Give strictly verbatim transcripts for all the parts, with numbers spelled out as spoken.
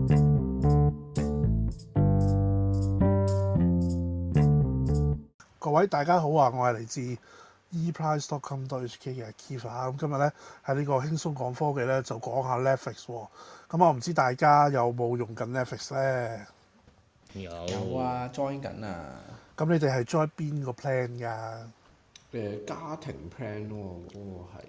各位大家好啊！我係嚟自 e price dot com dot h k 嘅 Keith 啊，咁今日咧喺呢個輕鬆講科技咧就講下 Netflix 喎。咁我唔知大家有冇用緊 Netflix 咧？ 有有啊 ，join 緊啊！ 咁你哋係 join 邊個 plan 㗎？ 誒家庭 plan 咯，嗰、嗰個係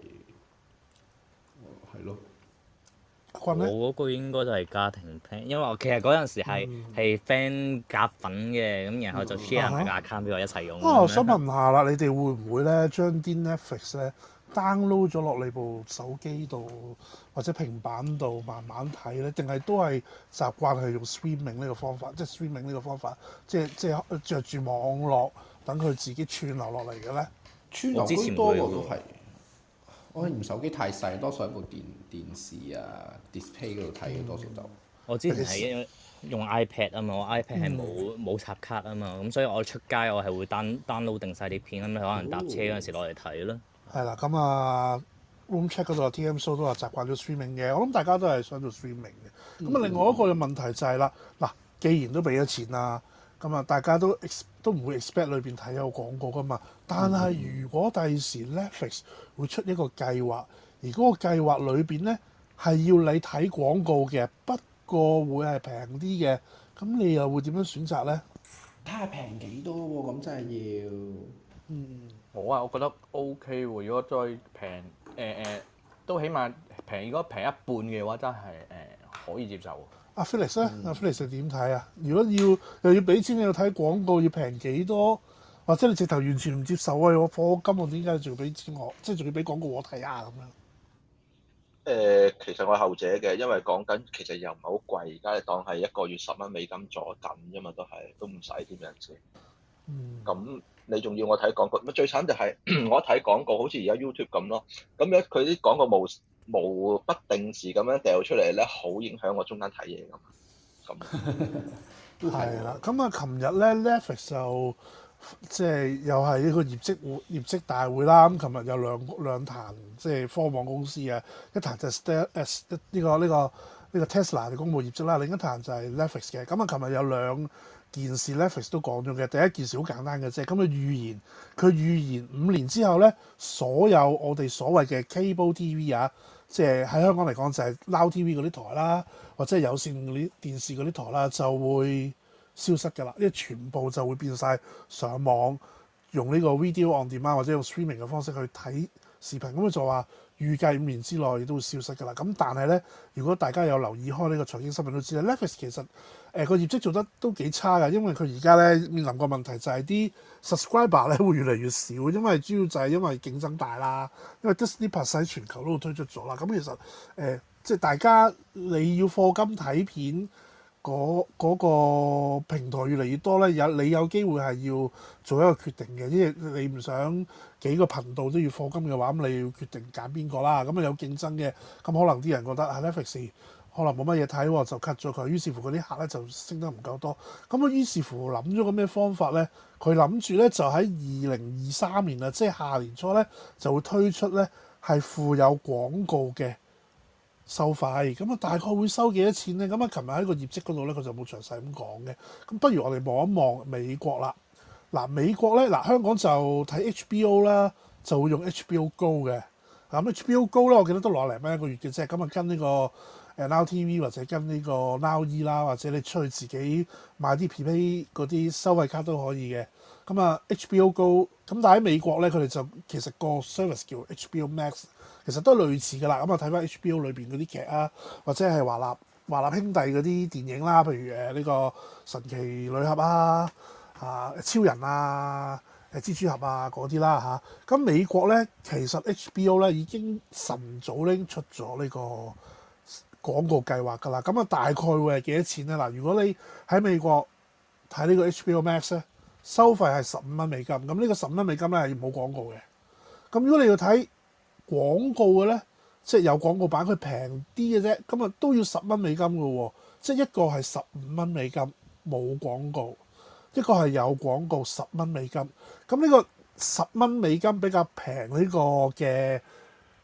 係咯。 我嗰個應該都係家庭 plan，因為我其實嗰陣時係係 friend 夾粉嘅，咁然後就 share 埋個 account 俾我一齊用。 啊，我想問下啦，你哋會唔會咧將啲 Netflix 咧 download 咗落你部手機度或者平板度慢慢睇咧？定係都係習慣係用 streaming 呢個方法，即係 streaming 呢個方法，即係即係著住網絡等佢自己串流落嚟嘅咧？ 串流居多喎都係。我用手機太細，多數喺部電電視啊 display 嗰度睇嘅多數就。 我之前係用 iPad 啊嘛，我 iPad 係冇冇插卡啊嘛，咁所以我出街我係會 down download 定晒啲片，咁可能搭車嗰陣時攞嚟睇咯。係啦，咁啊 Room Check 嗰度 T M Show 都話習慣咗 streaming 嘅，我諗大家都係想做 streaming 嘅。咁啊、嗯，另外一個嘅問題就係、是、啦，嗱，既然都俾咗錢啦。咁啊，大家都都唔會 expect 裏邊睇有廣告噶嘛。但係如果第時 Netflix 會出一個計劃，而嗰個計劃裏邊咧係要你睇廣告嘅，不過會係平啲嘅，咁你又會點樣選擇咧？ 睇下平幾多喎？咁真係要。 嗯，我啊，我覺得 OK 喎。如果再平誒誒，都起碼平。如果平一半嘅話，真係誒、呃、可以接受。 阿 Felix 咧，阿 Felix 點睇啊？如果要又要俾錢你要睇廣告，要平幾多？或者你直頭完全唔接受啊？我課金我點解仲要俾錢我？即係仲要俾廣告我睇啊？咁樣？誒、 呃，其實我係後者嘅，因為講緊其實又唔係好貴，而家你當係一個月十蚊美金坐緊啫嘛，都係都唔使點樣先。嗯。咁你仲要我睇廣告？咁最慘就係我一睇廣告，好似而家 YouTube 咁咯。咁樣佢啲廣告冇。無不定時咁樣掉出嚟咧，好影響我中間睇嘢咁。咁係啦，咁啊，琴日咧 Netflix 就即係又係呢個業績會業績大會啦。咁琴日有兩兩壇即係科網公司啊，一壇就係 St 誒呢個呢、呢個呢、呢個 Tesla 嘅公佈業績啦，另一壇就係 Netflix 嘅。咁啊，琴日有兩件事 Netflix 都講咗嘅。第一件事好簡單嘅啫，咁佢預言佢預言五年之後咧，所有我哋所謂嘅 cable T V 啊。即係喺香港嚟講就係 Now T V 嗰啲台啦，或者係有線嗰啲電視嗰啲台啦，就會消失㗎啦，因為全部就會變晒上網，用呢個 video on demand 或者用 streaming 嘅方式去睇視頻。咁佢就話預計五年之內都會消失㗎啦。咁但係咧，如果大家有留意開呢個財經新聞都知咧 Netflix 其實誒個、呃、業績做得都幾差㗎，因為佢而家咧面臨個問題就係啲 subscriber 咧會越嚟越少，因為主要就係因為競爭大啦，因為 Disney Plus 喺全球都推出咗啦。咁其實誒、呃、即係大家你要課金睇片嗰嗰、嗰個平台越嚟越多咧，有你有機會係要做一個決定嘅，因為你唔想幾個頻道都要課金嘅話，咁你要決定揀邊個啦。咁啊有競爭嘅，咁可能啲人覺得啊 Netflix 可能冇乜嘢睇，就 cut 咗佢。於是乎嗰啲客咧就升得唔夠多。咁啊於是乎諗咗個咩方法咧？佢諗住咧就喺二零二三年啊，即係下年初咧就會推出咧係附有廣告嘅收費。咁啊大概會收幾多錢咧？咁啊琴日喺個業績嗰度咧佢就冇詳細咁講嘅。咁不如我哋望一望美國啦。嗱美國咧嗱香港就睇 H B O 啦，就會用 H B O Go 嘅。咁 H B O Go 咧我記得都攞零蚊一個月嘅啫。咁啊跟呢個誒 Now T V 或者跟呢個 Now E 啦，或者你出去自己買啲 Prepaid 嗰啲收費卡都可以嘅。咁啊 H B O Go 咁但係喺美國咧佢哋就其實個 service 叫 H B O Max， 其實都係類似㗎啦。咁啊睇翻 H B O 裏邊嗰啲劇啊，或者係華納華納兄弟嗰啲電影啦，譬如誒呢個神奇女俠啊、啊超人啊、誒蜘蛛俠啊嗰啲啦嚇。咁、啊、美國咧其實 H B O 咧已經晨早咧出咗呢個廣告計劃㗎啦。咁啊大概會係幾多錢咧？嗱，如果你喺美國睇呢個 H B O Max 咧，收費係十五蚊美金。咁呢個十五蚊美金咧係冇廣告嘅。咁如果你要睇廣告嘅咧，即係有廣告版，佢平啲嘅啫，咁啊都要十蚊美金嘅喎。即係一個係十五蚊美金冇廣告，一個係有廣告十蚊美金。咁呢個十蚊美金比較平呢個嘅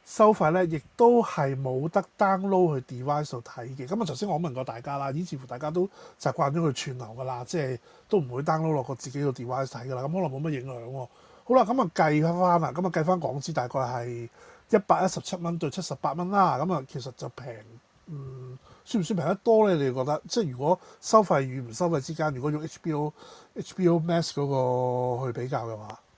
收費咧，亦都係冇得 download 去 device 度睇嘅。咁啊，頭先我問過大家啦，已似乎大家都習慣咗佢串流噶啦，即係都唔會 download 落個自己個 device 睇噶啦。咁可能冇乜影響喎。好啦，咁啊計翻啦，咁啊計翻港紙大概係一百一十七蚊對七十八蚊啦。咁啊，其實就平，嗯，算唔算平得多咧？你哋覺得？即係如果收費與唔收費之間，如果用 H B O H B O Max 嗰個去比較嘅話？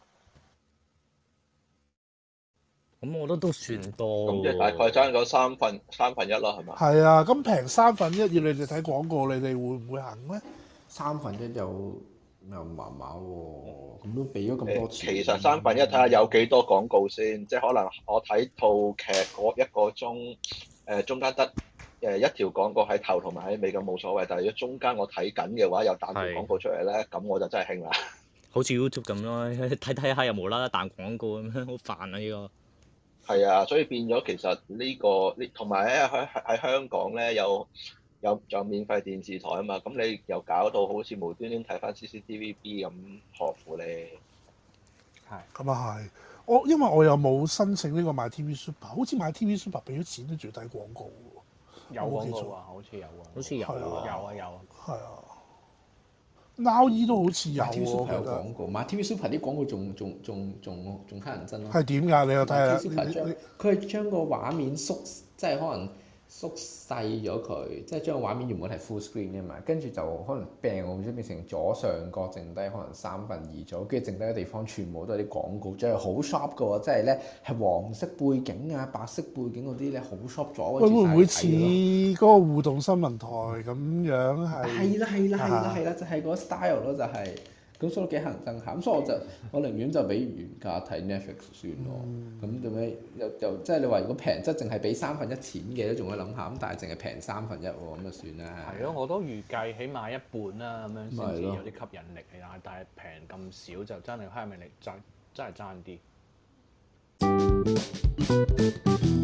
咁我覺得都算多。 咁即係大概爭咗三分三分一啦，係嘛？ 係啊，咁平三分一，要你哋睇廣告，你哋會唔會行咧？ 三分一又又麻麻喎，咁都俾咗咁多錢。 其實三分一睇下有幾多廣告先，即係可能我睇套劇嗰一個鐘，誒、呃、中間得誒一條廣告喺頭同埋喺尾咁冇所謂，但係如果中間我睇緊嘅話有彈條廣告出嚟咧，咁我就真係興啦。 好似 YouTube 咁咯，睇睇下又無啦啦彈廣告咁樣，好煩啊呢、呢個。 係啊，所以變咗其實呢、呢個呢，同埋咧喺喺香港咧有有有免費電視台啊嘛，咁你又搞到好似無端端睇翻 C C T V B 咁，何苦咧？ 係咁啊係，我因為我又冇申請呢個買 T V Super，好似買 T V Super 俾咗錢都仲要睇廣告喎。 有廣告啊，好似有啊， 好似有啊， 有啊有啊。 係啊。Now E 都好似有喎， 買 T V Super 有我覺得廣告，買 T V Super 啲廣告仲仲仲仲仲乞人憎咯。 係點㗎？你又睇下。 T V Super 將佢係將個畫面縮，即係可能縮細咗佢，即係將個畫面原本係 full screen 嘅嘛，跟住就可能病我唔知變成左上角剩低可能三分二咗，跟住剩低嘅地方全部都係啲廣告，即係好 sharp 嘅喎，即係咧係黃色背景啊、白色背景嗰啲咧好 sharp 咗。 會唔會似嗰個互動新聞台咁樣係？ 係啦係啦係啦係啦，就係嗰 style 咯，就係。咁所以幾乞人憎下，咁所以我就我寧願就俾原價睇 Netflix 算咯。咁做咩又又即係你話如果平質淨係俾三分一錢嘅都仲可以諗下，咁但係淨係平三分一喎，咁就算啦。 係咯，我都預計起碼一半啦，咁樣先至有啲吸引力啊！但係平咁少就真係吸引力真真係爭啲。